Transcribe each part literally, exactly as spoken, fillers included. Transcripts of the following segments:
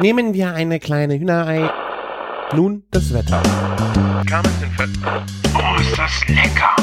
Nehmen wir eine kleine Hühnerei. Nun das Wetter. Oh, ist das lecker!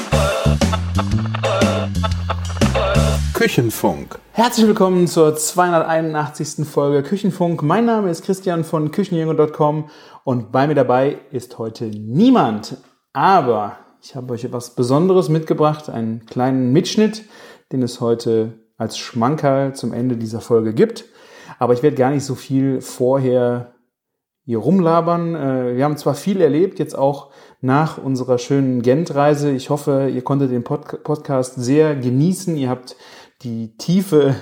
Küchenfunk. Herzlich willkommen zur zweihunderteinundachtzigsten Folge Küchenfunk. Mein Name ist Christian von küchenjunge punkt com und bei mir dabei ist heute niemand. Aber ich habe euch etwas Besonderes mitgebracht, einen kleinen Mitschnitt, den es heute als Schmankerl zum Ende dieser Folge gibt. Aber ich werde gar nicht so viel vorher hier rumlabern. Wir haben zwar viel erlebt, jetzt auch nach unserer schönen Gent-Reise. Ich hoffe, ihr konntet den Pod- Podcast sehr genießen. Ihr habt die Tiefe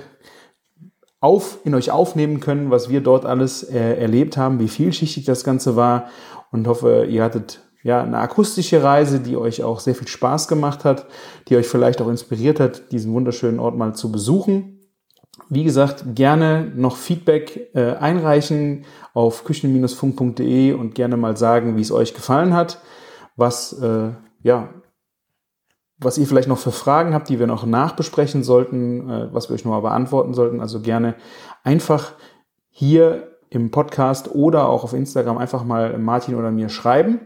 auf, in euch aufnehmen können, was wir dort alles äh, erlebt haben, wie vielschichtig das Ganze war, und hoffe, ihr hattet ja eine akustische Reise, die euch auch sehr viel Spaß gemacht hat, die euch vielleicht auch inspiriert hat, diesen wunderschönen Ort mal zu besuchen. Wie gesagt, gerne noch Feedback äh, einreichen auf küchen funk punkt de und gerne mal sagen, wie es euch gefallen hat, was äh, ja was ihr vielleicht noch für Fragen habt, die wir noch nachbesprechen sollten, äh, was wir euch nochmal beantworten sollten. Also gerne einfach hier im Podcast oder auch auf Instagram einfach mal Martin oder mir schreiben.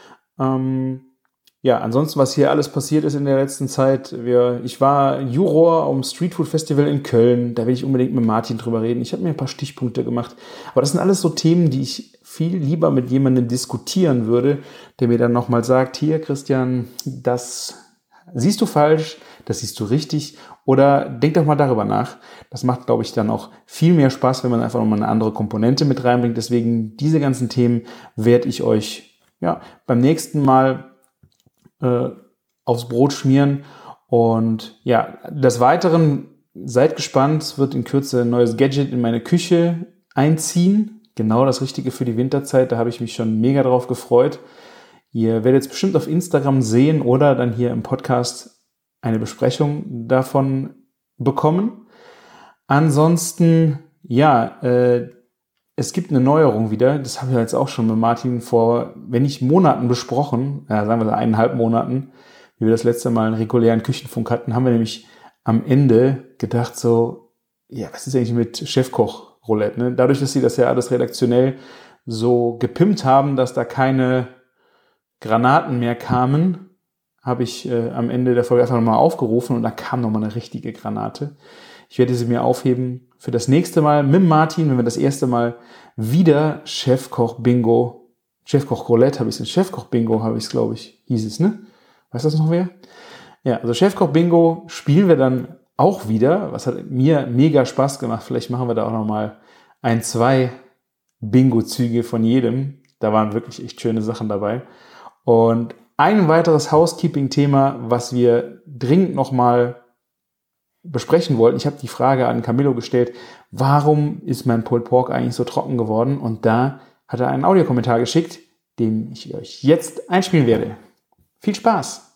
Ähm, ja, ansonsten, was hier alles passiert ist in der letzten Zeit. Wir, ich war Juror am Streetfood Festival in Köln. Da will ich unbedingt mit Martin drüber reden. Ich habe mir ein paar Stichpunkte gemacht. Aber das sind alles so Themen, die ich viel lieber mit jemandem diskutieren würde, der mir dann nochmal sagt, hier Christian, das siehst du falsch, das siehst du richtig, oder denk doch mal darüber nach. Das macht, glaube ich, dann auch viel mehr Spaß, wenn man einfach nochmal eine andere Komponente mit reinbringt. Deswegen diese ganzen Themen werde ich euch ja beim nächsten Mal äh, aufs Brot schmieren. Und ja, des Weiteren, seid gespannt, es wird in Kürze ein neues Gadget in meine Küche einziehen. Genau das Richtige für die Winterzeit, da habe ich mich schon mega drauf gefreut. Ihr werdet es bestimmt auf Instagram sehen oder dann hier im Podcast eine Besprechung davon bekommen. Ansonsten, ja, äh, es gibt eine Neuerung wieder. Das habe ich jetzt auch schon mit Martin vor, wenn nicht Monaten besprochen, ja, sagen wir so eineinhalb Monaten, wie wir das letzte Mal einen regulären Küchenfunk hatten, haben wir nämlich am Ende gedacht so, ja, was ist eigentlich mit Chefkoch-Roulette? Ne? Dadurch, dass sie das ja alles redaktionell so gepimpt haben, dass da keine Granaten mehr kamen, habe ich äh, am Ende der Folge einfach nochmal aufgerufen und da kam nochmal eine richtige Granate. Ich werde sie mir aufheben für das nächste Mal mit Martin, wenn wir das erste Mal wieder Chefkoch-Bingo, Chefkoch-Roulette habe ich es, Chefkoch-Bingo habe ich es, glaube ich, hieß es, ne? Weiß das noch wer? Ja, also Chefkoch-Bingo spielen wir dann auch wieder. Was hat mir mega Spaß gemacht. Vielleicht machen wir da auch nochmal ein, zwei Bingo-Züge von jedem. Da waren wirklich echt schöne Sachen dabei. Und ein weiteres Housekeeping-Thema, was wir dringend nochmal besprechen wollten. Ich habe die Frage an Camillo gestellt, warum ist mein Pulled Pork eigentlich so trocken geworden? Und da hat er einen Audiokommentar geschickt, den ich euch jetzt einspielen werde. Viel Spaß!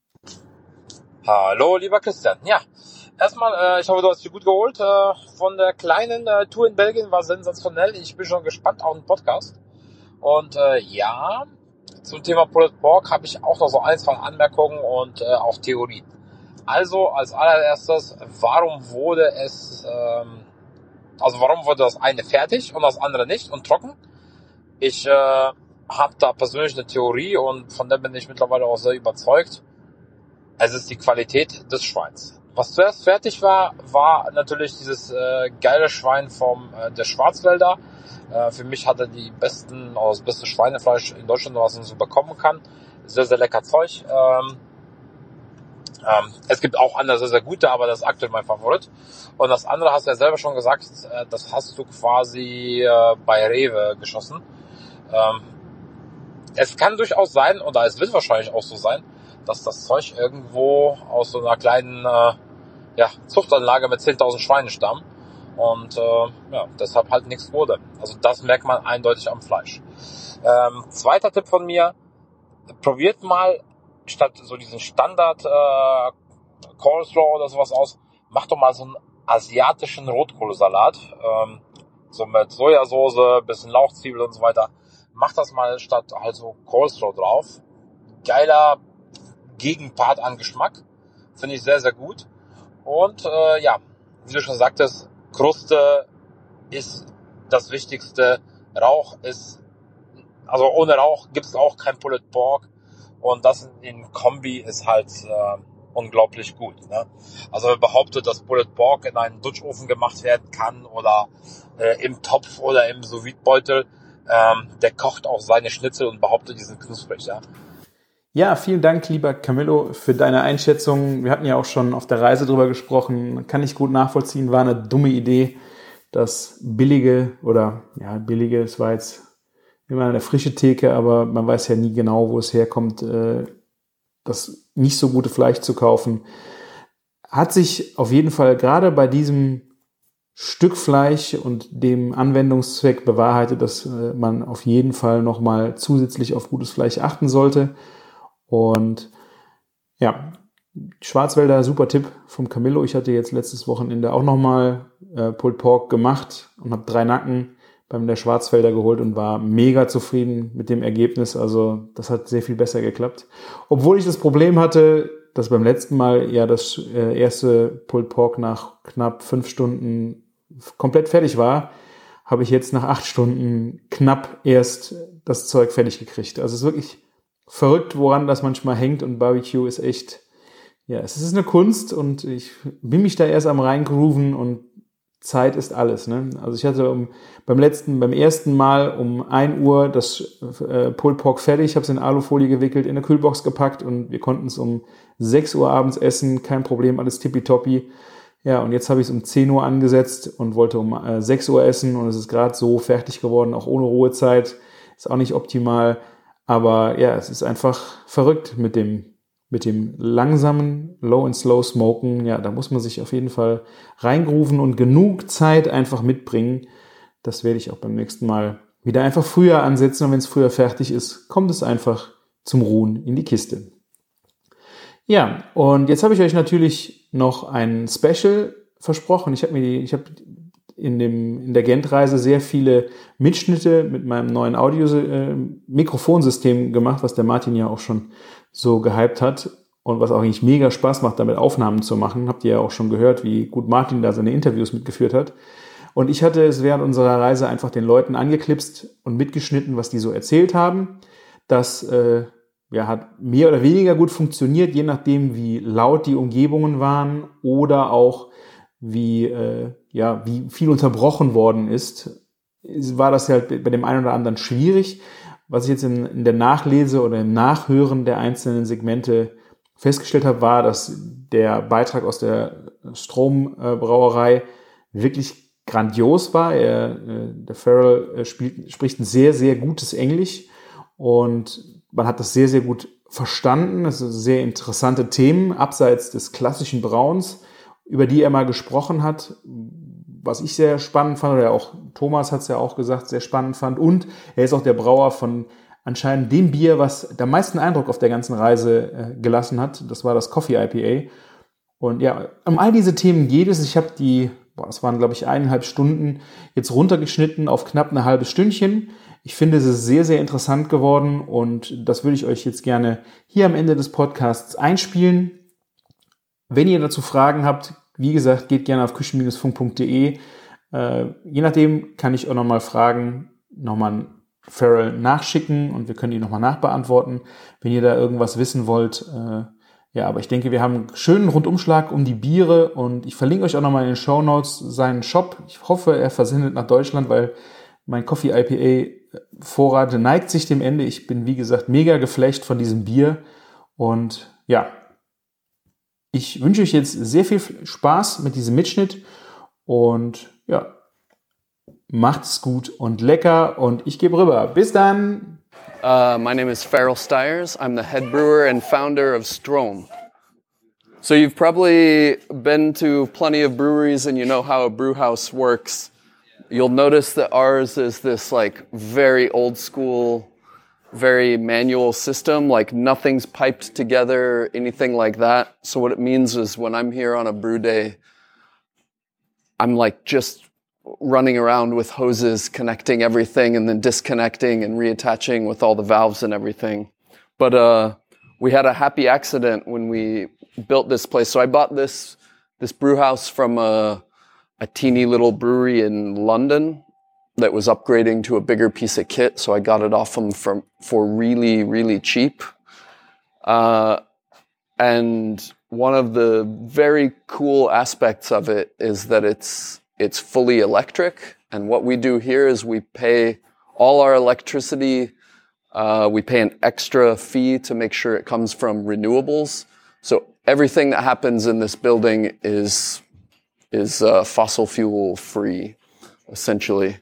Hallo, lieber Christian. Ja, erstmal, äh, ich hoffe, du hast dich gut geholt. Äh, von der kleinen äh, Tour in Belgien war sensationell. Ich bin schon gespannt auf den Podcast. Und äh, ja, zum Thema Pulled Pork habe ich auch noch so ein, zwei Anmerkungen und äh, auch Theorien. Also als allererstes, warum wurde es, ähm, also warum wurde das eine fertig und das andere nicht und trocken? Ich äh, habe da persönlich eine Theorie und von der bin ich mittlerweile auch sehr überzeugt. Es ist die Qualität des Schweins. Was zuerst fertig war, war natürlich dieses äh, geile Schwein vom äh, der Schwarzwälder. Äh, für mich hatte die besten, oder das beste Schweinefleisch in Deutschland, was man so bekommen kann. Sehr, sehr lecker Zeug. Ähm, ähm, es gibt auch andere sehr, sehr gute, aber das ist aktuell mein Favorit. Und das andere hast du ja selber schon gesagt, äh, das hast du quasi äh, bei Rewe geschossen. Ähm, es kann durchaus sein, oder es wird wahrscheinlich auch so sein, dass das Zeug irgendwo aus so einer kleinen äh, ja, Zuchtanlage mit zehntausend Schweinen stammt und äh, ja, deshalb halt nichts wurde. Also das merkt man eindeutig am Fleisch. Ähm, zweiter Tipp von mir, probiert mal statt so diesen Standard äh, Coleslaw oder sowas aus, macht doch mal so einen asiatischen Rotkohlsalat, ähm, so mit Sojasauce, bisschen Lauchzwiebel und so weiter. Macht das mal statt halt so Coleslaw drauf. Geiler Gegenpart an Geschmack. Finde ich sehr, sehr gut. Und äh, ja, wie du schon sagtest, Kruste ist das Wichtigste, Rauch ist, also ohne Rauch gibt es auch kein Pulled Pork. Und das in Kombi ist halt äh, unglaublich gut. Ne? Also wer behauptet, dass Pulled Pork in einem Dutchofen gemacht werden kann oder äh, im Topf oder im Sous-Vide-Beutel, ähm, der kocht auch seine Schnitzel und behauptet, die sind knusprig. Ja? Ja, vielen Dank, lieber Camillo, für deine Einschätzung. Wir hatten ja auch schon auf der Reise drüber gesprochen. Kann ich gut nachvollziehen, war eine dumme Idee, das billige oder ja, billige, es war jetzt immer eine frische Theke, aber man weiß ja nie genau, wo es herkommt, äh, das nicht so gute Fleisch zu kaufen. Hat sich auf jeden Fall gerade bei diesem Stück Fleisch und dem Anwendungszweck bewahrheitet, dass äh, man auf jeden Fall nochmal zusätzlich auf gutes Fleisch achten sollte. Und ja, Schwarzwälder, super Tipp vom Camillo. Ich hatte jetzt letztes Wochenende auch nochmal äh, Pulled Pork gemacht und habe drei Nacken beim der Schwarzwälder geholt und war mega zufrieden mit dem Ergebnis. Also das hat sehr viel besser geklappt. Obwohl ich das Problem hatte, dass beim letzten Mal ja das äh, erste Pulled Pork nach knapp fünf Stunden komplett fertig war, habe ich jetzt nach acht Stunden knapp erst das Zeug fertig gekriegt. Also es ist wirklich verrückt, woran das manchmal hängt, und Barbecue ist echt, ja, es ist eine Kunst und ich bin mich da erst am reingrooven und Zeit ist alles, ne? Also ich hatte um, beim letzten, beim ersten Mal um ein Uhr das äh, Pulled Pork fertig, ich habe es in Alufolie gewickelt, in eine Kühlbox gepackt und wir konnten es um sechs Uhr abends essen, kein Problem, alles tippitoppi. Ja, und jetzt habe ich es um zehn Uhr angesetzt und wollte um äh, sechs Uhr essen und es ist gerade so fertig geworden, auch ohne Ruhezeit, ist auch nicht optimal, aber ja, es ist einfach verrückt mit dem mit dem langsamen Low and Slow Smoken. Ja, da muss man sich auf jeden Fall reingrooven und genug Zeit einfach mitbringen. Das werde ich auch beim nächsten Mal wieder einfach früher ansetzen, und wenn es früher fertig ist, kommt es einfach zum Ruhen in die Kiste. Ja, und jetzt habe ich euch natürlich noch ein Special versprochen. Ich habe mir die, ich habe in dem in der Gent-Reise sehr viele Mitschnitte mit meinem neuen Audio-Mikrofonsystem gemacht, was der Martin ja auch schon so gehypt hat und was auch eigentlich mega Spaß macht, damit Aufnahmen zu machen. Habt ihr ja auch schon gehört, wie gut Martin da seine Interviews mitgeführt hat. Und ich hatte es während unserer Reise einfach den Leuten angeklipst und mitgeschnitten, was die so erzählt haben. Das äh, ja, hat mehr oder weniger gut funktioniert, je nachdem, wie laut die Umgebungen waren oder auch wie, äh, ja, wie viel unterbrochen worden ist. War das halt bei dem einen oder anderen schwierig. Was ich jetzt in, in der Nachlese oder im Nachhören der einzelnen Segmente festgestellt habe, war, dass der Beitrag aus der Strombrauerei wirklich grandios war. Er, der Farrell spielt, spricht ein sehr, sehr gutes Englisch und man hat das sehr, sehr gut verstanden. Es sind sehr interessante Themen, abseits des klassischen Brauens, über die er mal gesprochen hat, was ich sehr spannend fand, oder auch Thomas hat es ja auch gesagt, sehr spannend fand. Und er ist auch der Brauer von anscheinend dem Bier, was der meisten Eindruck auf der ganzen Reise äh, gelassen hat. Das war das Coffee I P A. Und ja, um all diese Themen geht es. Ich habe die, boah, das waren glaube ich eineinhalb Stunden, jetzt runtergeschnitten auf knapp eine halbe Stündchen. Ich finde, es ist sehr, sehr interessant geworden und das würde ich euch jetzt gerne hier am Ende des Podcasts einspielen. Wenn ihr dazu Fragen habt, wie gesagt, geht gerne auf küchen Bindestrich funk punkt de. Äh, je nachdem kann ich auch nochmal Fragen nochmal an Farrell nachschicken und wir können die nochmal nachbeantworten, wenn ihr da irgendwas wissen wollt. Äh, ja, aber ich denke, wir haben einen schönen Rundumschlag um die Biere und ich verlinke euch auch nochmal in den Shownotes seinen Shop. Ich hoffe, er versendet nach Deutschland, weil mein Coffee I P A Vorrat neigt sich dem Ende. Ich bin, wie gesagt, mega geflasht von diesem Bier und ja, ich wünsche euch jetzt sehr viel Spaß mit diesem Mitschnitt und ja, macht's gut und lecker und ich gebe rüber. Bis dann! Uh, my name is Farrell Stiers. I'm the head brewer and founder of Strom. So you've probably been to plenty of breweries and you know how a brew house works. You'll notice that ours is this like very old school, very manual system, like nothing's piped together, anything like that. So what it means is when I'm here on a brew day, I'm like just running around with hoses, connecting everything and then disconnecting and reattaching with all the valves and everything. But uh, we had a happy accident when we built this place. So I bought this this brew house from a, a teeny little brewery in London. that was upgrading to a bigger piece of kit, so I got it off them for, for really, really cheap. Uh, and one of the very cool aspects of it is that it's it's fully electric. And what we do here is we pay all our electricity. Uh, we pay an extra fee to make sure it comes from renewables. So everything that happens in this building is is uh, fossil fuel free, essentially.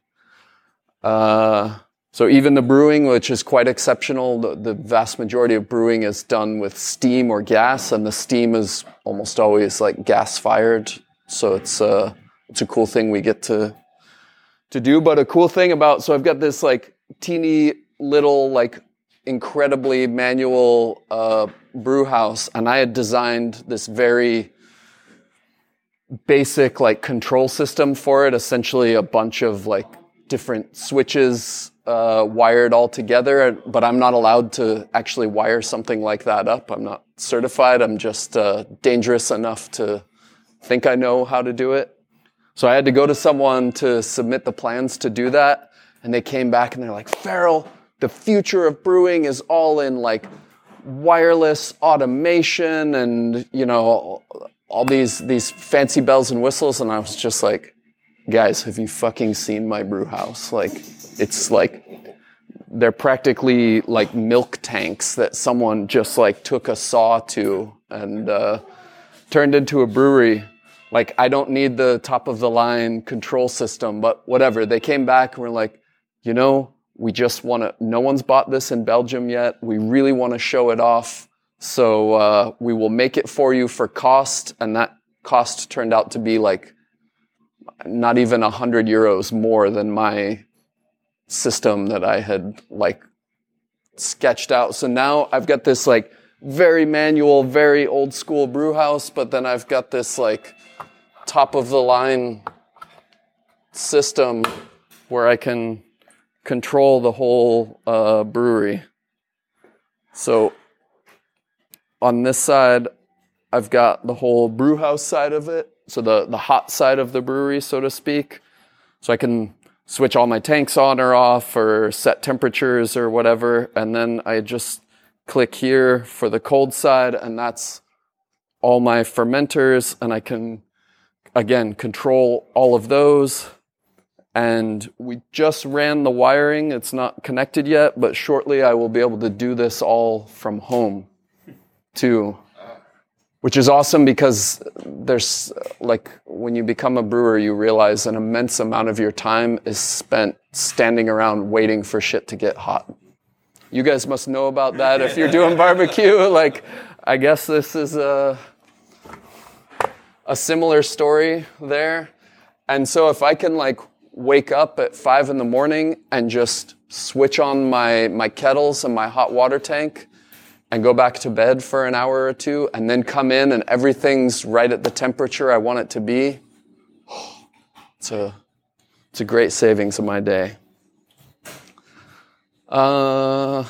Uh, so even the brewing, which is quite exceptional, the, the vast majority of brewing is done with steam or gas, and the steam is almost always like gas fired. So it's uh, it's a cool thing we get to to do. But a cool thing about, so I've got this like teeny little like incredibly manual uh, brew house, and I had designed this very basic like control system for it, essentially a bunch of like different switches uh, wired all together, but I'm not allowed to actually wire something like that up. I'm not certified. I'm just uh, dangerous enough to think I know how to do it. So I had to go to someone to submit the plans to do that, and they came back and they're like, Farrell, the future of brewing is all in like wireless automation and, you know, all these these fancy bells and whistles. And I was just like, guys, have you fucking seen my brew house? Like, it's like, they're practically like milk tanks that someone just like took a saw to and uh, turned into a brewery. Like, I don't need the top of the line control system, but whatever. They came back and were like, you know, we just want to, no one's bought this in Belgium yet. We really want to show it off. So uh, we will make it for you for cost. And that cost turned out to be like not even a hundred euros more than my system that I had like sketched out. So now I've got this like very manual, very old school brew house, but then I've got this like top of the line system where I can control the whole uh, brewery. So on this side, I've got the whole brew house side of it. So the, the hot side of the brewery, so to speak. So I can switch all my tanks on or off or set temperatures or whatever. And then I just click here for the cold side, and that's all my fermenters. And I can, again, control all of those. And we just ran the wiring. It's not connected yet, but shortly I will be able to do this all from home too. Which is awesome because there's, like, when you become a brewer, you realize an immense amount of your time is spent standing around waiting for shit to get hot. You guys must know about that if you're doing barbecue. Like, I guess this is a, a similar story there. And so if I can, like, wake up at five in the morning and just switch on my, my kettles and my hot water tank and go back to bed for an hour or two, and then come in and everything's right at the temperature I want it to be, it's a, it's a great savings of my day. Uh,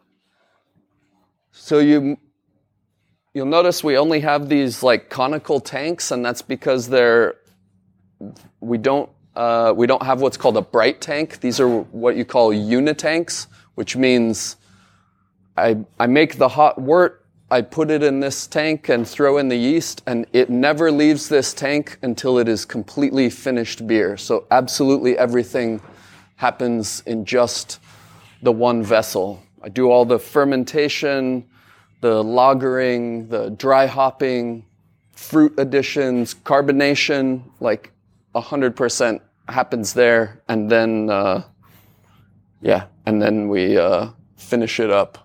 so you, you'll notice we only have these like conical tanks, and that's because they're, we don't, uh, we don't have what's called a bright tank. These are what you call unitanks, which means I, I make the hot wort, I put it in this tank and throw in the yeast, and it never leaves this tank until it is completely finished beer. So absolutely everything happens in just the one vessel. I do all the fermentation, the lagering, the dry hopping, fruit additions, carbonation, like one hundred percent happens there. And then, uh, yeah, and then we uh, finish it up.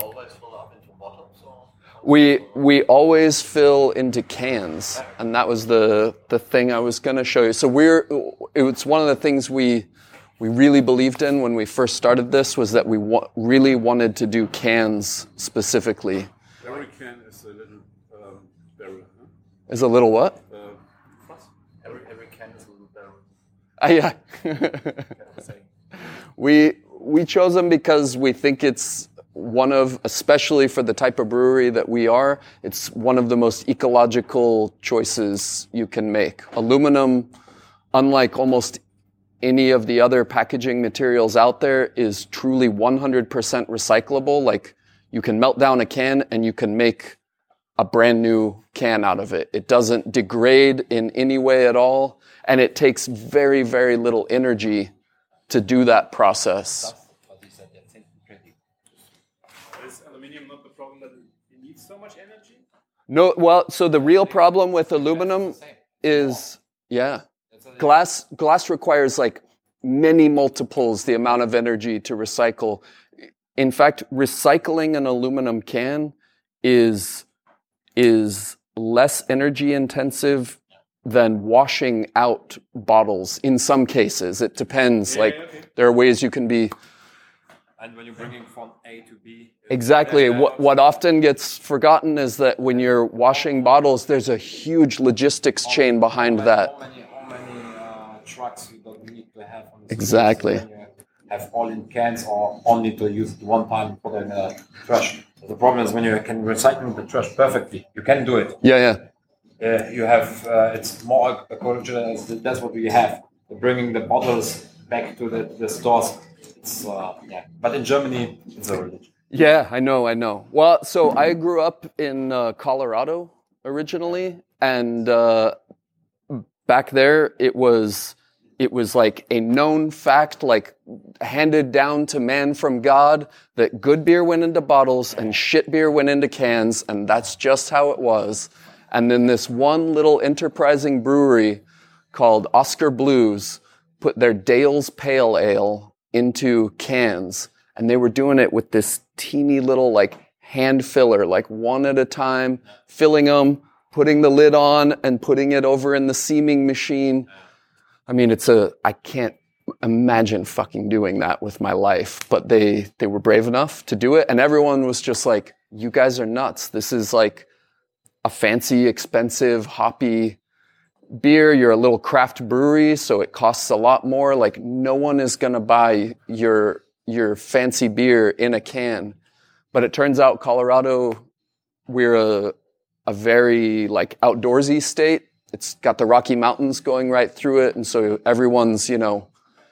We we always fill into cans, and that was the the thing I was going to show you. So we're it's one of the things we we really believed in when we first started this, was that we wa- really wanted to do cans specifically. Every can is a little um, barrel. Huh? Is a little what? Uh, every every can is a little barrel. Ah, yeah. we we chose them because we think it's one of, especially for the type of brewery that we are, it's one of the most ecological choices you can make. Aluminum, unlike almost any of the other packaging materials out there is truly one hundred percent recyclable. Like, you can melt down a can and you can make a brand new can out of it. It doesn't degrade in any way at all, and it takes very, very little energy to do that process. Is aluminium not the problem that it needs so much energy? No, well, so the real problem with aluminum is, yeah, glass, glass requires like many multiples the amount of energy to recycle. In fact, recycling an aluminum can is is less energy intensive than washing out bottles in some cases. It depends. Yeah, like yeah, okay. there are ways you can be. And when you're bringing from A to B. Exactly. What what often gets forgotten is that when you're washing bottles, there's a huge logistics chain behind that. How many, how many uh, trucks you don't need to have on the Exactly. streets when you have all in cans or only to use it one time for the uh, trash. The problem is when you can recycle the trash perfectly, you can do it. Yeah, yeah. Uh, you have uh, it's more ecological. That's what we have. Bringing the bottles back to the, the stores. It's uh, yeah. But in Germany, it's a religion. Yeah, I know, I know. Well, so I grew up in uh, Colorado originally, and uh, back there it was it was like a known fact, like handed down to man from God, that good beer went into bottles and shit beer went into cans, and that's just how it was. And then this one little enterprising brewery called Oscar Blues put their Dale's Pale Ale into cans, and they were doing it with this teeny little like hand filler, like one at a time, filling them, putting the lid on and putting it over in the seaming machine. I mean, it's a, I can't imagine fucking doing that with my life, but they, they were brave enough to do it. And everyone was just like, you guys are nuts. This is like a fancy, expensive, hoppy beer. You're a little craft brewery, so it costs a lot more. Like, no one is going to buy your, your fancy beer in a can. But it turns out Colorado, we're a, a very like outdoorsy state. It's got the Rocky Mountains going right through it. And so everyone's, you know,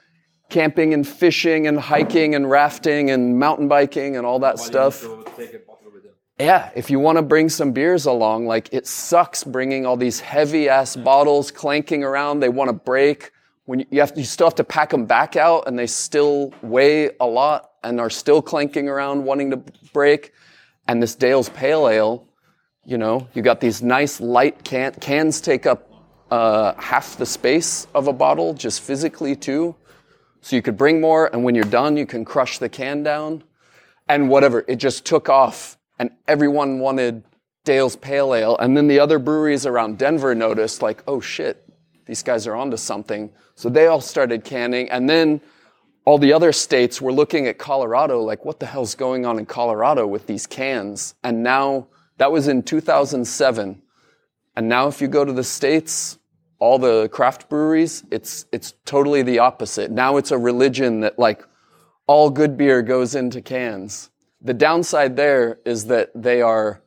camping and fishing and hiking and rafting and mountain biking and all that Why stuff. you need to take a bottle with them. Yeah, if you want to bring some beers along, like, it sucks bringing all these heavy-ass bottles clanking around. They want to break. When you, you have, you still have to pack them back out, and they still weigh a lot and are still clanking around, wanting to break. And this Dale's Pale Ale, you know, you got these nice light can cans take up uh, half the space of a bottle, just physically too. So you could bring more, and when you're done, you can crush the can down. And whatever, it just took off, and everyone wanted Dale's Pale Ale. And then the other breweries around Denver noticed, like, oh shit, these guys are onto something. So they all started canning, and then all the other states were looking at Colorado, like, what the hell's going on in Colorado with these cans? And now, that was in two thousand seven. And now if you go to the States, all the craft breweries, it's it's totally the opposite. Now it's a religion that, like, all good beer goes into cans. The downside there is that they are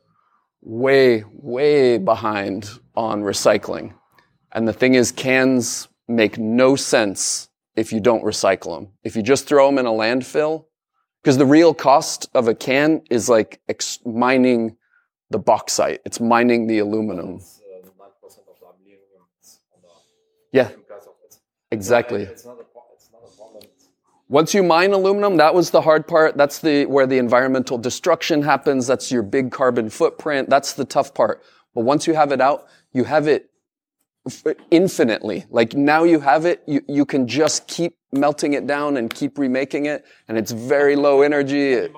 way, way behind on recycling. And the thing is, cans make no sense if you don't recycle them. If you just throw them in a landfill, because the real cost of a can is like ex- mining the bauxite. It's mining the aluminum. It's uh, nine percent of the aluminum is on the Yeah, because of it. exactly. It's not a pro- it's not a problem. Once you mine aluminum, that was the hard part. That's the where the environmental destruction happens. That's your big carbon footprint. That's the tough part. But once you have it out, you have it f- infinitely. Like, now you have it, you, you can just keep melting it down and keep remaking it, and it's very low energy. It-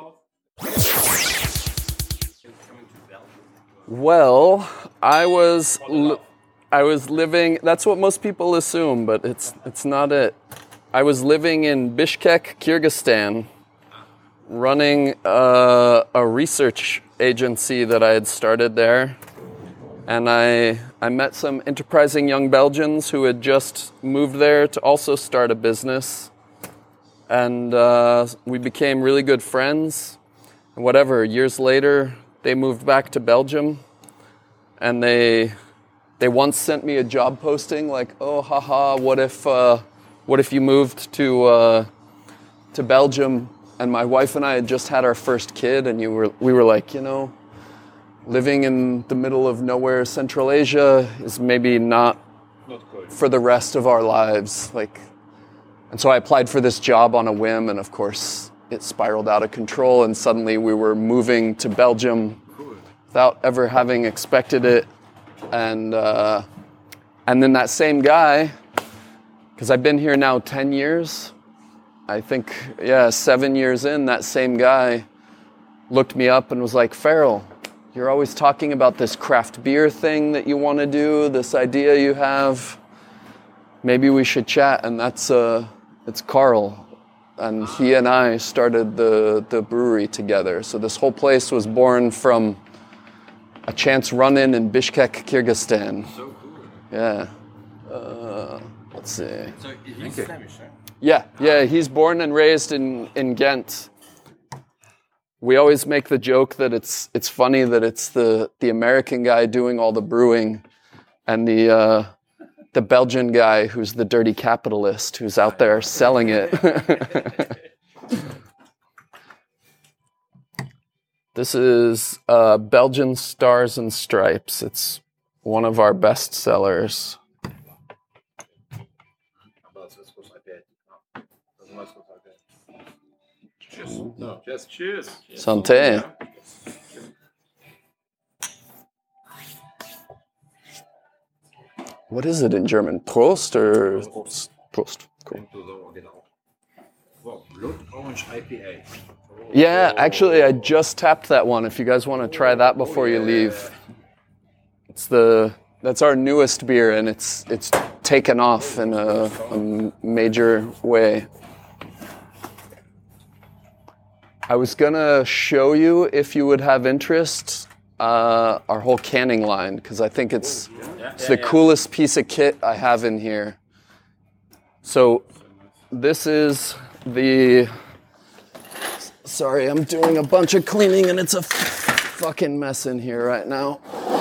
Well, I was li- I was living, that's what most people assume, but it's it's not it. I was living in Bishkek, Kyrgyzstan, running a, a research agency that I had started there. And I I met some enterprising young Belgians who had just moved there to also start a business. And uh, we became really good friends. And whatever, years later, they moved back to Belgium, and they they once sent me a job posting like, oh, haha, what if uh, what if you moved to uh, to Belgium, and my wife and I had just had our first kid, and you were we were like, you know, living in the middle of nowhere, Central Asia, is maybe not, Not good. for the rest of our lives. Like, and so I applied for this job on a whim, and of course it spiraled out of control, and suddenly we were moving to Belgium without ever having expected it. And uh, and then that same guy, because I've been here now ten years, I think, yeah, seven years in, that same guy looked me up and was like, Farrell, you're always talking about this craft beer thing that you want to do, this idea you have. Maybe we should chat. And that's, uh, it's Carl. And he and I started the, the brewery together. So this whole place was born from a chance run-in in Bishkek, Kyrgyzstan. So cool. Yeah. Uh, let's see. So he's Flemish, right? Yeah, yeah, he's born and raised in, in Ghent. We always make the joke that it's it's funny that it's the, the American guy doing all the brewing and the uh, the Belgian guy who's the dirty capitalist who's out there selling it. This is uh, Belgian Stars and Stripes. It's one of our best sellers. Cheers. No, just cheers. Santé. What is it in German? Prost or Prost? Cool. Wow, Blood Orange I P A. Yeah, actually, I just tapped that one. If you guys want to try that before you leave, it's the that's our newest beer, and it's it's taken off in a, a major way. I was gonna show you, if you would have interest, uh, our whole canning line, because I think it's it's the coolest piece of kit I have in here. So this is the. Sorry, I'm doing a bunch of cleaning and it's a f- fucking mess in here right now.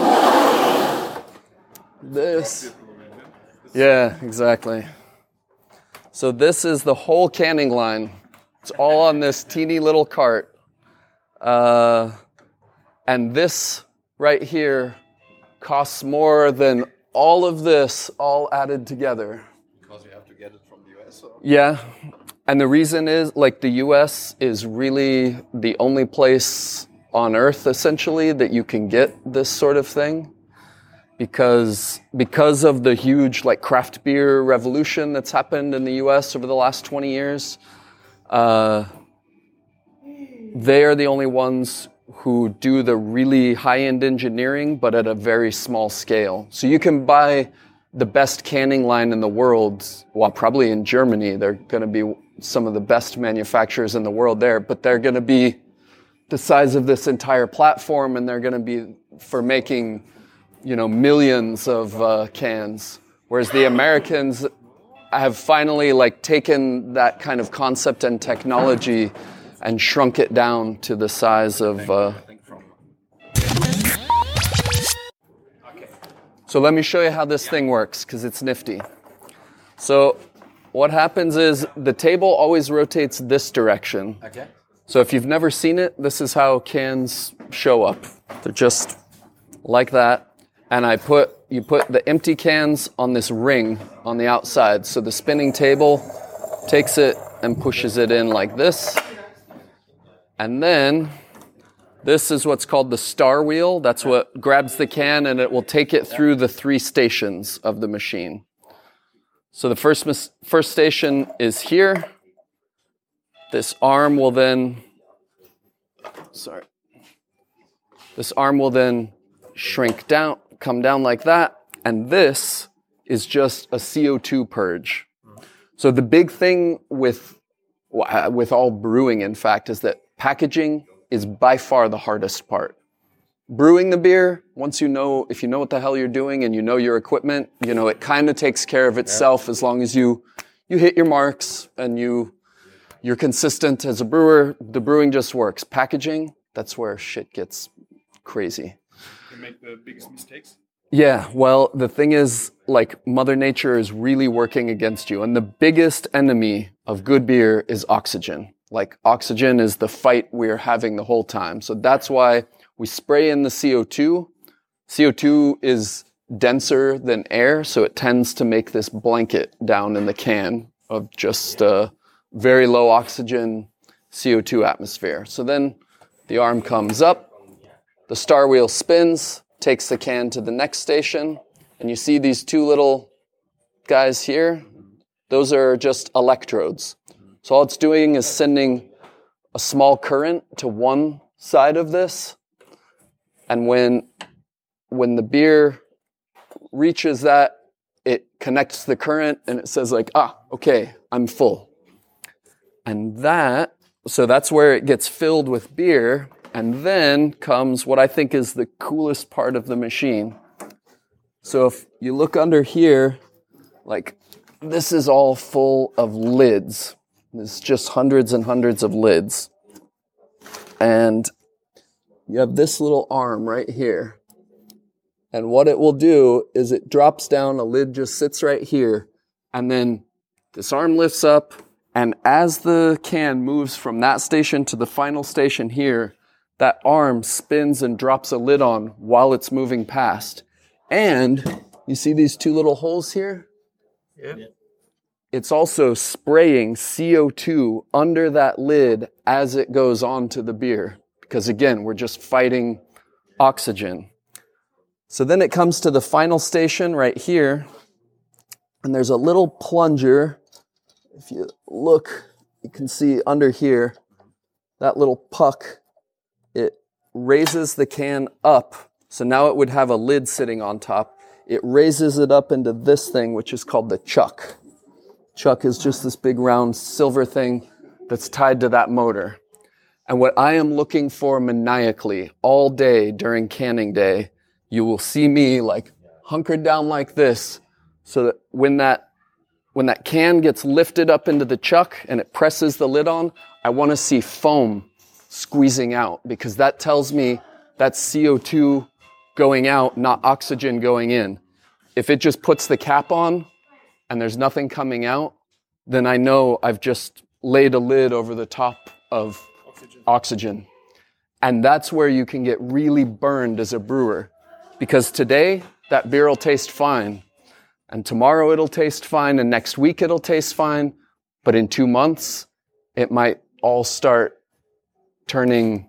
This. Yeah, exactly. So this is the whole canning line. It's all on this teeny little cart. Uh, and this right here costs more than all of this all added together. Because you have to get it from the U S. Or? Yeah. And the reason is, like, the U S is really the only place on Earth, essentially, that you can get this sort of thing. Because because of the huge, like, craft beer revolution that's happened in the U S over the last twenty years, uh, they are the only ones who do the really high-end engineering, but at a very small scale. So you can buy the best canning line in the world, well, probably in Germany, they're going to be some of the best manufacturers in the world there, but they're going to be the size of this entire platform, and they're going to be for making, you know, millions of uh, cans. Whereas the Americans have finally, like, taken that kind of concept and technology and shrunk it down to the size of. Uh... So let me show you how this thing works, because it's nifty. So what happens is the table always rotates this direction. Okay. So if you've never seen it, this is how cans show up. They're just like that. And I put you put the empty cans on this ring on the outside. So the spinning table takes it and pushes it in like this. And then this is what's called the star wheel. That's what grabs the can, and it will take it through the three stations of the machine. So the first mis- first station is here. This arm will then, sorry, this arm will then shrink down, come down like that, and this is just a C O two purge. So the big thing with with all brewing, in fact, is that packaging is by far the hardest part. Brewing the beer, once you know, if you know what the hell you're doing and you know your equipment, you know, it kind of takes care of itself as long as you you hit your marks and you you're consistent as a brewer. The brewing just works. Packaging, that's where shit gets crazy. You make the biggest mistakes. Yeah, well, the thing is, like, Mother Nature is really working against you. And the biggest enemy of good beer is oxygen. Like, oxygen is the fight we're having the whole time. So that's why we spray in the C O two. C O two is denser than air, so it tends to make this blanket down in the can of just uh, very low oxygen C O two atmosphere. So then the arm comes up, the star wheel spins, takes the can to the next station, and you see these two little guys here. Those are just electrodes. So all it's doing is sending a small current to one side of this, and when when the beer reaches that, it connects the current and it says like, ah, okay, I'm full. And that, so that's where it gets filled with beer. And then comes what I think is the coolest part of the machine. So if you look under here, like this is all full of lids. There's just hundreds and hundreds of lids. And you have this little arm right here. And what it will do is it drops down, a lid just sits right here, and then this arm lifts up, and as the can moves from that station to the final station here, that arm spins and drops a lid on while it's moving past. And you see these two little holes here? Yeah. It's also spraying C O two under that lid as it goes on to the beer. Because again, we're just fighting oxygen. So then it comes to the final station right here, and there's a little plunger. If you look, you can see under here, that little puck, it raises the can up. So now it would have a lid sitting on top. It raises it up into this thing, which is called the chuck. Chuck is just this big round silver thing that's tied to that motor. And what I am looking for maniacally all day during canning day, you will see me like hunkered down like this, so that when that when that can gets lifted up into the chuck and it presses the lid on, I want to see foam squeezing out, because that tells me that's C O two going out, not oxygen going in. If it just puts the cap on and there's nothing coming out, then I know I've just laid a lid over the top of oxygen. oxygen. And that's where you can get really burned as a brewer. Because today, that beer will taste fine, and tomorrow it'll taste fine, and next week it'll taste fine, but in two months, it might all start turning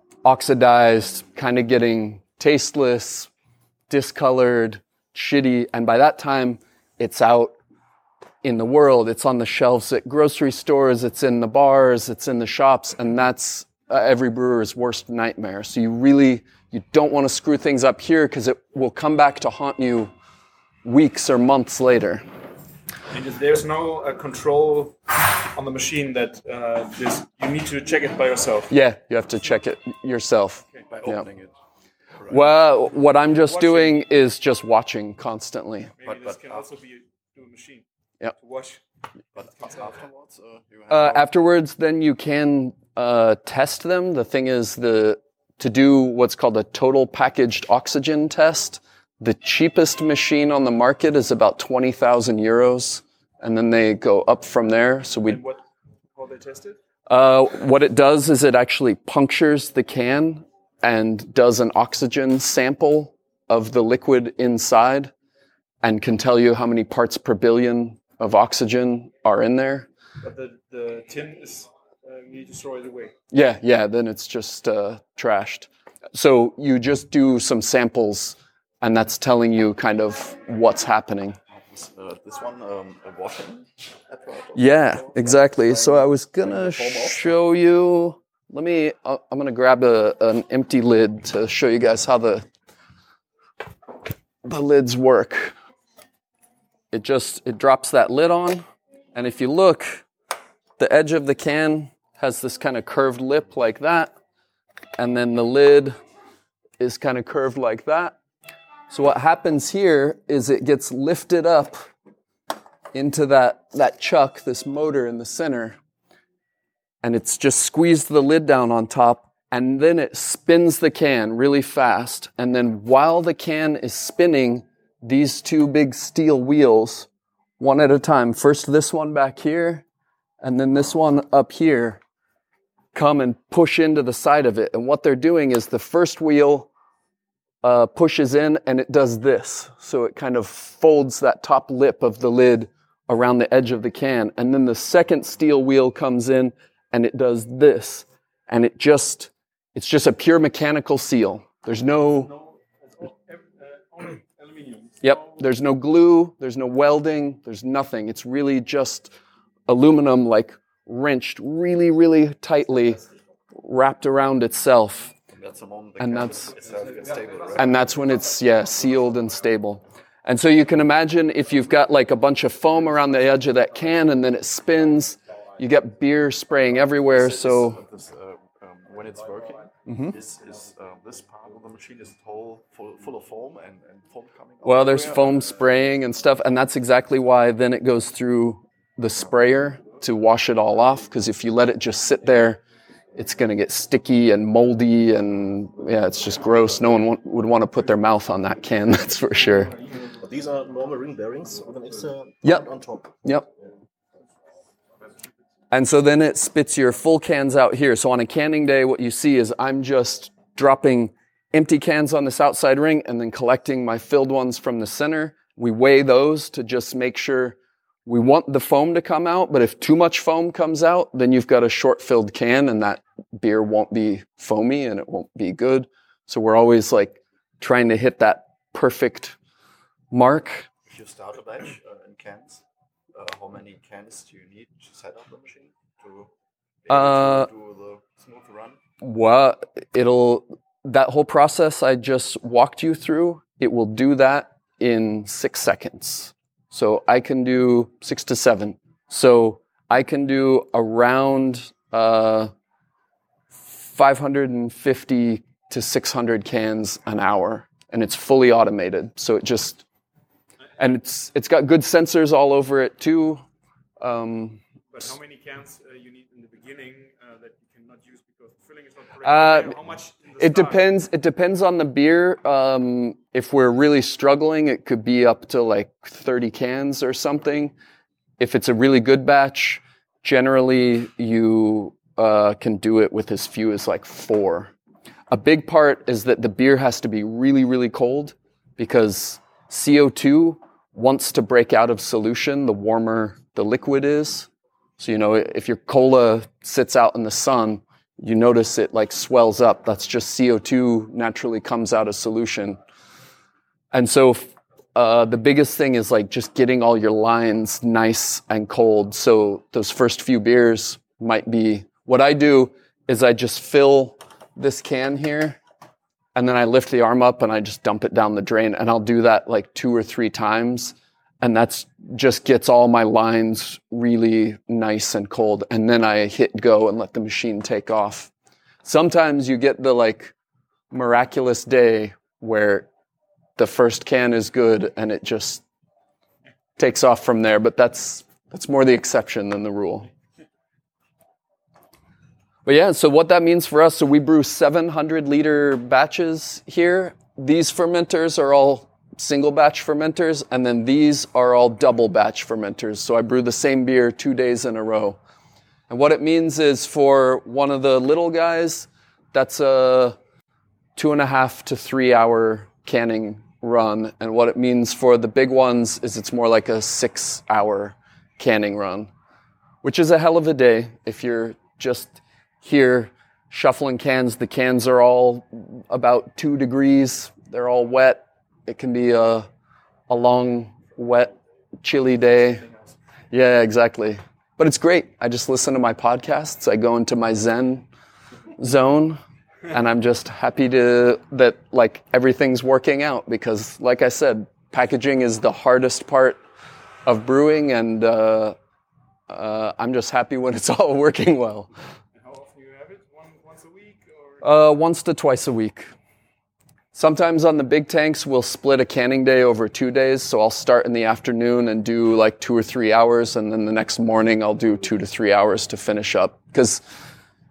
oxidized, kind of getting tasteless, discolored, shitty, and by that time, it's out in the world. It's on the shelves at grocery stores, it's in the bars, it's in the shops, and that's uh, every brewer's worst nightmare. So you really... You don't want to screw things up here because it will come back to haunt you weeks or months later. And there's no uh, control on the machine that uh, this, you need to check it by yourself. Yeah, you have to check it yourself. Okay. By opening yeah. it. Right. Well, what I'm just watching. doing is just watching constantly. Maybe but, this but can also be to a machine. Yep. To wash. But afterwards, uh, you have uh, afterwards, then you can uh, test them. The thing is, the to do what's called a total packaged oxygen test, the cheapest machine on the market is about twenty thousand euros, and then they go up from there. So we. And what? How they test it? Uh, what it does is it actually punctures the can and does an oxygen sample of the liquid inside, and can tell you how many parts per billion of oxygen are in there. But the the tin is. Uh, you need to throw it away. Yeah, yeah, then it's just uh, trashed. So you just do some samples, and that's telling you kind of what's happening. Uh, this one, um, a washing apparatus? Yeah, exactly. So I was going to show you... Let me... Uh, I'm going to grab a, an empty lid to show you guys how the, the lids work. It just... It drops that lid on, and if you look, the edge of the can has this kind of curved lip like that, and then the lid is kind of curved like that. So what happens here is it gets lifted up into that, that chuck, this motor in the center, and it's just squeezed the lid down on top, and then it spins the can really fast. And then while the can is spinning, these two big steel wheels, one at a time, first this one back here, and then this one up here, come and push into the side of it. And what they're doing is the first wheel uh, pushes in and it does this. So it kind of folds that top lip of the lid around the edge of the can. And then the second steel wheel comes in and it does this. And it just, it's just a pure mechanical seal. There's no, yep, there's no glue, there's no welding, there's nothing. It's really just aluminum, like wrenched really, really tightly, wrapped around itself. And that's, and that's when it's, yeah, sealed and stable. And so you can imagine if you've got like a bunch of foam around the edge of that can and then it spins, you get beer spraying everywhere. So This, uh, um, when it's working, Mhm. is, is uh, this part of the machine is whole full, full of foam and, and foam coming out well, there's everywhere? foam spraying and stuff. And that's exactly why then it goes through the sprayer to wash it all off. Because if you let it just sit there, it's going to get sticky and moldy. And yeah, it's just gross. No one wa- would want to put their mouth on that can, that's for sure. But these are normal ring bearings with an extra Yep. part on top. Yep. And so then it spits your full cans out here. So on a canning day, what you see is I'm just dropping empty cans on this outside ring and then collecting my filled ones from the center. We weigh those to just make sure we want the foam to come out, but if too much foam comes out, then you've got a short-filled can and that beer won't be foamy and it won't be good. So we're always like trying to hit that perfect mark. If you start a batch uh, in cans, uh, how many cans do you need to set up the machine to be able Uh, to do the smooth run? Well, it'll, that whole process I just walked you through, it will do that in six seconds. So I can do six to seven. So I can do around uh, five hundred fifty to six hundred cans an hour, and it's fully automated. So it just, and it's it's got good sensors all over it too. Um, But how many cans uh, you need in the beginning uh, that you cannot use because the filling is not correct? Uh, how much in the It start? depends. It depends on the beer. Um, if we're really struggling, it could be up to like thirty cans or something. If it's a really good batch, generally you uh, can do it with as few as like four. A big part is that the beer has to be really, really cold because C O two wants to break out of solution the warmer the liquid is. So, you know, if your cola sits out in the sun, you notice it like swells up. That's just C O two naturally comes out of solution. And so uh, the biggest thing is like just getting all your lines nice and cold. So those first few beers might be, what I do is I just fill this can here and then I lift the arm up and I just dump it down the drain. And I'll do that like two or three times. And that's just gets all my lines really nice and cold. And then I hit go and let the machine take off. Sometimes you get the like miraculous day where the first can is good and it just takes off from there. But that's that's more the exception than the rule. But yeah, so what that means for us, so we brew seven hundred liter batches here. These fermenters are all single batch fermenters, and then these are all double batch fermenters. So I brew the same beer two days in a row. And what it means is for one of the little guys, that's a two and a half to three hour canning run. And what it means for the big ones is it's more like a six hour canning run, which is a hell of a day. If you're just here shuffling cans, the cans are all about two degrees. They're all wet. It can be a, a long, wet, chilly day. Yeah, exactly. But it's great. I just listen to my podcasts. I go into my Zen zone, and I'm just happy to that like everything's working out because, like I said, packaging is the hardest part of brewing, and uh, uh, I'm just happy when it's all working well. And how often you have it? One, once a week? Or? Uh, once to twice a week. Sometimes on the big tanks, we'll split a canning day over two days. So I'll start in the afternoon and do like two or three hours. And then the next morning, I'll do two to three hours to finish up. Because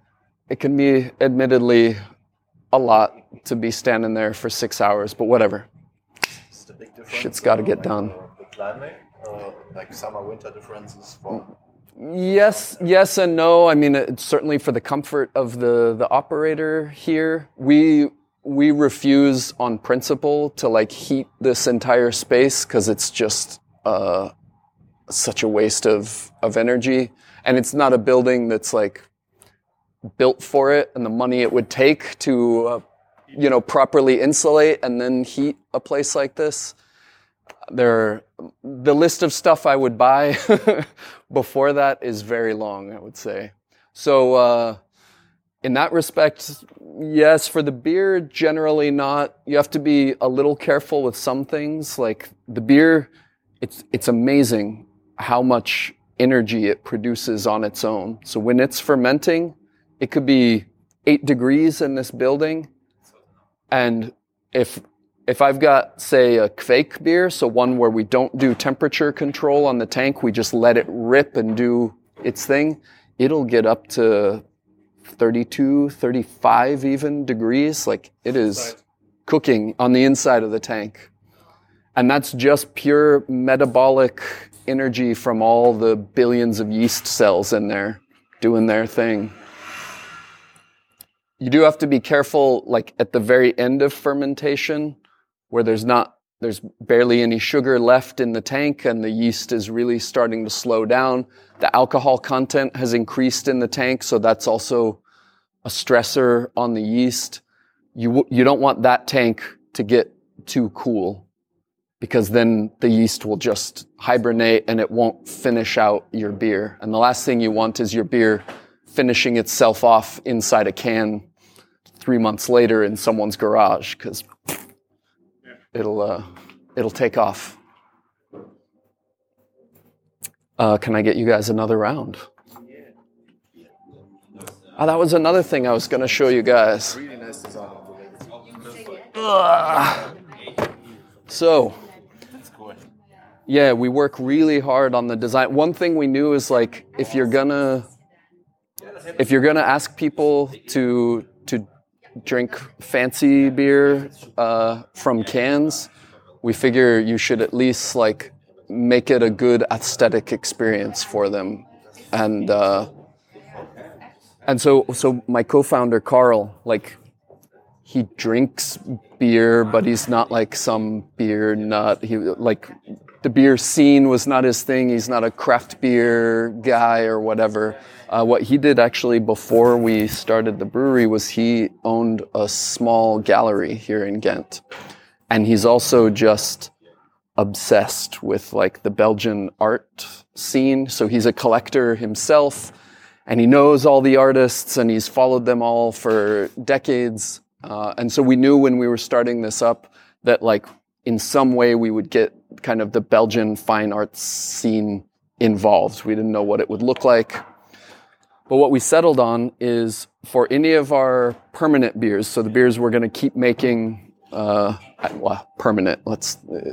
it can be admittedly a lot to be standing there for six hours, but whatever. Is the big difference, Shit's got to uh, get like done. The, the climate, uh, like summer winter differences for Yes, yes and no. I mean, it's certainly for the comfort of the, the operator here. We we refuse on principle to like heat this entire space because it's just uh, such a waste of, of energy. And it's not a building that's like built for it, and the money it would take to uh, you know properly insulate and then heat a place like this. There, the list of stuff I would buy before that is very long, I would say. So, uh, in that respect, yes, for the beer, generally not. You have to be a little careful with some things. Like the beer, it's it's amazing how much energy it produces on its own. So when it's fermenting, it could be eight degrees in this building, and if If I've got, say, a Kveik beer, so one where we don't do temperature control on the tank, we just let it rip and do its thing, it'll get up to thirty-two, thirty-five even degrees. Like, it is cooking on the inside of the tank. And that's just pure metabolic energy from all the billions of yeast cells in there doing their thing. You do have to be careful, like, at the very end of fermentation, where there's not, there's barely any sugar left in the tank and the yeast is really starting to slow down. The alcohol content has increased in the tank, so that's also a stressor on the yeast. You you don't want that tank to get too cool, because then the yeast will just hibernate and it won't finish out your beer. And the last thing you want is your beer finishing itself off inside a can three months later in someone's garage, because It'll uh, it'll take off. Uh, can I get you guys another round? Oh, that was another thing I was going to show you guys. really nice design. Ugh. So, yeah, we work really hard on the design. One thing we knew is like if you're gonna if you're gonna ask people to to drink fancy beer uh, from cans, we figure you should at least like make it a good aesthetic experience for them. And uh, and so so my co-founder Carl, like, he drinks beer, but he's not like some beer nut. He like the beer scene was not his thing. He's not a craft beer guy or whatever. Uh, what he did actually before we started the brewery was he owned a small gallery here in Ghent. And he's also just obsessed with like the Belgian art scene. So he's a collector himself, and he knows all the artists and he's followed them all for decades. Uh, and so we knew when we were starting this up that like in some way we would get kind of the Belgian fine arts scene involved. We didn't know what it would look like. But what we settled on is for any of our permanent beers, so the beers we're going to keep making, uh, well, permanent, let's, uh,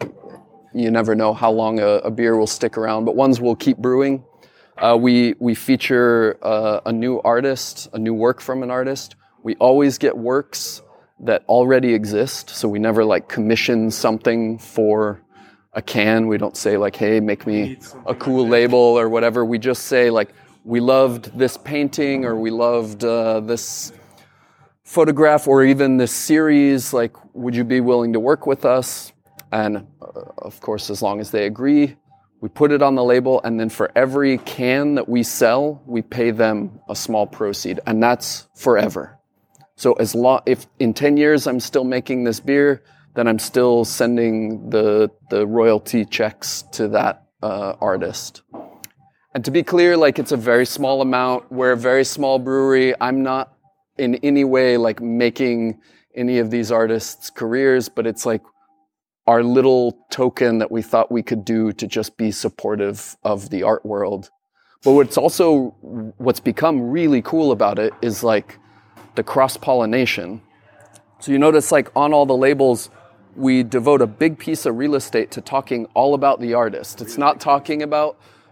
you never know how long a, a beer will stick around, but ones we'll keep brewing. Uh, we, we feature uh, a new artist, a new work from an artist. We always get works that already exist, so we never like commission something for a can. We don't say like, hey, make me a cool label or whatever. We just say like, we loved this painting, or we loved uh, this photograph, or even this series. Like, would you be willing to work with us? And uh, of course, as long as they agree, we put it on the label. And then for every can that we sell, we pay them a small proceed, and that's forever. So as long, if in ten years I'm still making this beer, then I'm still sending the the royalty checks to that uh, artist. And to be clear, like, it's a very small amount. We're a very small brewery. I'm not in any way like making any of these artists' careers, but it's like our little token that we thought we could do to just be supportive of the art world. But what's also, what's become really cool about it is like the cross-pollination. So you notice like on all the labels, we devote a big piece of real estate to talking all about the artist. It's not talking about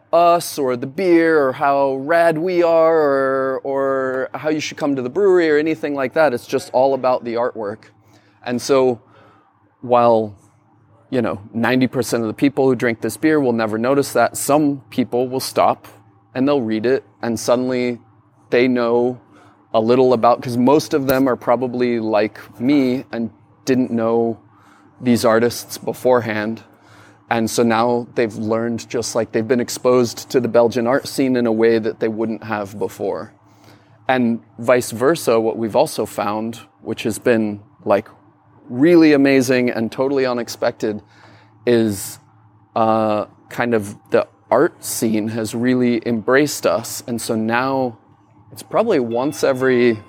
us or the beer or how rad we are or or how you should come to the brewery or anything like that. It's just all about the artwork. And so while, you know, ninety percent of the people who drink this beer will never notice that, some people will stop and they'll read it and suddenly they know a little about, because most of them are probably like me and didn't know these artists beforehand. And so now they've learned, just like they've been exposed to the Belgian art scene in a way that they wouldn't have before. And vice versa, what we've also found, which has been like really amazing and totally unexpected, is uh, kind of the art scene has really embraced us. And so now it's probably once every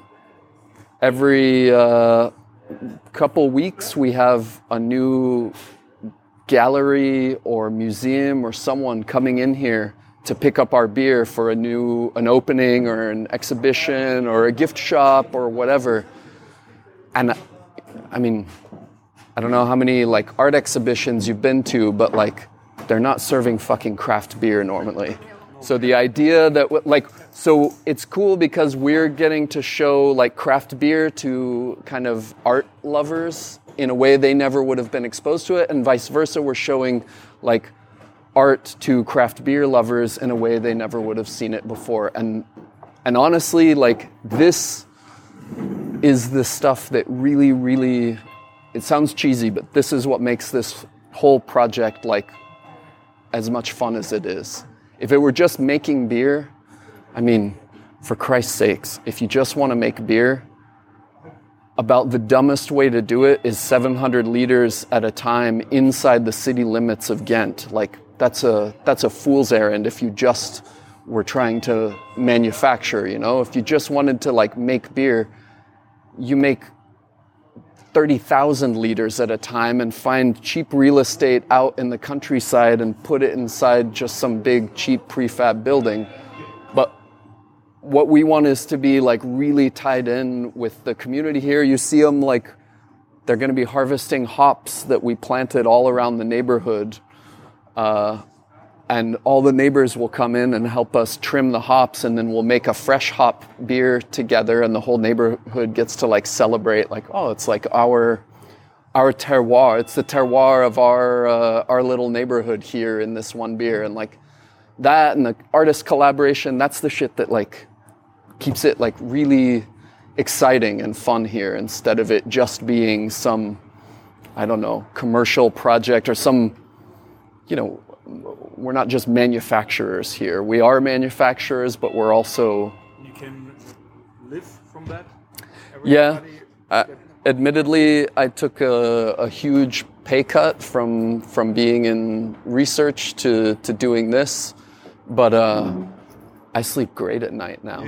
every uh, couple weeks we have a new gallery or museum or someone coming in here to pick up our beer for a new an opening or an exhibition or a gift shop or whatever. And I mean, I don't know how many like art exhibitions you've been to, but like they're not serving fucking craft beer normally. So the idea that like, so it's cool because we're getting to show like craft beer to kind of art lovers in a way they never would have been exposed to it, and vice versa, we're showing like art to craft beer lovers in a way they never would have seen it before. And and honestly, like this is the stuff that really, really, it sounds cheesy, but this is what makes this whole project like as much fun as it is. If it were just making beer, I mean, for Christ's sakes, if you just want to make beer, about the dumbest way to do it is seven hundred liters at a time inside the city limits of Ghent. Like, that's a that's a fool's errand if you just were trying to manufacture, you know? If you just wanted to, like, make beer, you make thirty thousand liters at a time and find cheap real estate out in the countryside and put it inside just some big, cheap prefab building. But what we want is to be like really tied in with the community here. You see them like they're going to be harvesting hops that we planted all around the neighborhood. Uh, and all the neighbors will come in and help us trim the hops, and then we'll make a fresh hop beer together, and the whole neighborhood gets to like celebrate like, oh, it's like our our terroir. It's the terroir of our uh, our little neighborhood here in this one beer. And like that and the artist collaboration, that's the shit that like keeps it like really exciting and fun here, instead of it just being some, I don't know, commercial project or some, you know, we're not just manufacturers here. We are manufacturers, but we're also... You can live from that? Yeah. Uh, admittedly, I took a, a huge pay cut from from being in research to, to doing this, but uh, I sleep great at night now.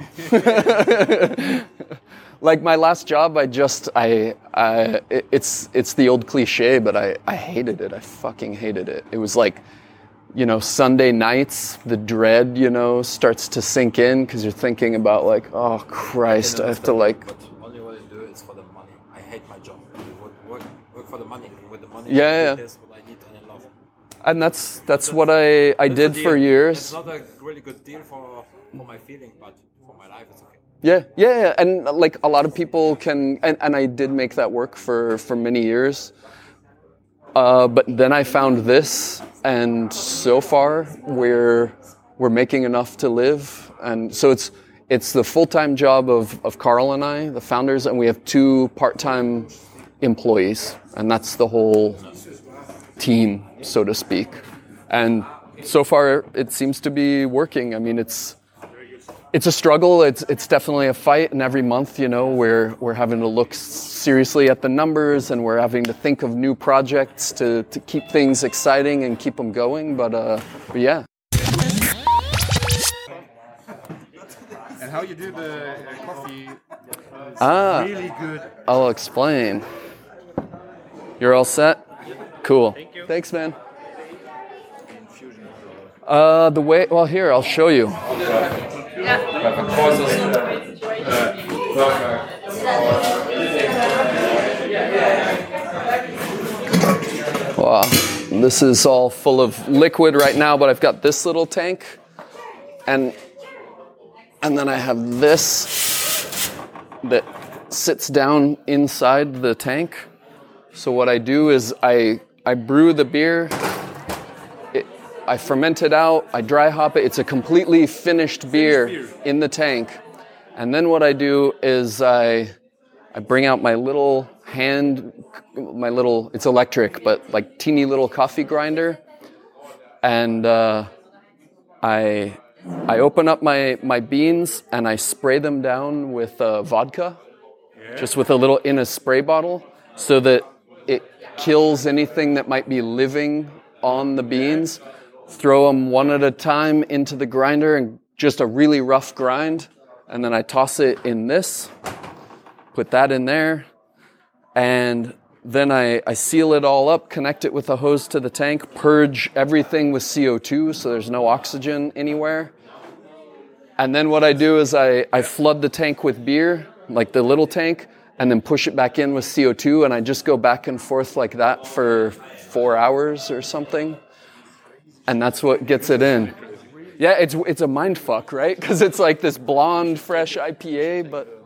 Like my last job, I just, I, I it's it's the old cliche, but I, I hated it. I fucking hated it. It was like, you know, Sunday nights, the dread, you know, starts to sink in because you're thinking about like, oh Christ, I have to like... But only what I do is for the money. I hate my job. I work, work, work for the money. With the money, yeah, yeah. That's what I need and I love. And that's that's what I, I did for years. It's not a really good deal for, for my feeling, but for my life it's okay. Yeah, yeah, yeah. And like a lot of people can, and, and I did make that work for, for many years. Uh, but then I found this, and so far we're we're making enough to live, and so it's it's the full-time job of, of Carl and I, the founders, and we have two part-time employees, and that's the whole team, so to speak. And so far it seems to be working. I mean, it's it's a struggle. It's it's definitely a fight, and every month, you know, we're we're having to look seriously at the numbers, and we're having to think of new projects to, to keep things exciting and keep them going. But uh, but yeah. And how you do the uh, coffee is ah, really good. I'll explain. You're all set? Cool. Thank you. Thanks, man. Uh, the way, well, here, I'll show you. Wow, this is all full of liquid right now, but I've got this little tank and and then I have this that sits down inside the tank. So what I do is I I brew the beer, it, I ferment it out, I dry hop it. It's a completely finished beer, finished beer in the tank. And then what I do is I I bring out my little hand, my little, it's electric, but like teeny little coffee grinder. And uh, I I open up my, my beans and I spray them down with uh, vodka, yeah. just with a little, in a spray bottle, so that it kills anything that might be living on the beans. Throw them one at a time into the grinder and just a really rough grind. And then I toss it in this, put that in there, and then I, I seal it all up, connect it with a hose to the tank, purge everything with C O two so there's no oxygen anywhere. And then what I do is I, I flood the tank with beer, like the little tank, and then push it back in with C O two, and I just go back and forth like that for four hours or something. And that's what gets it in. Yeah, it's it's a mind fuck, right? Because it's like this blonde, fresh I P A, but...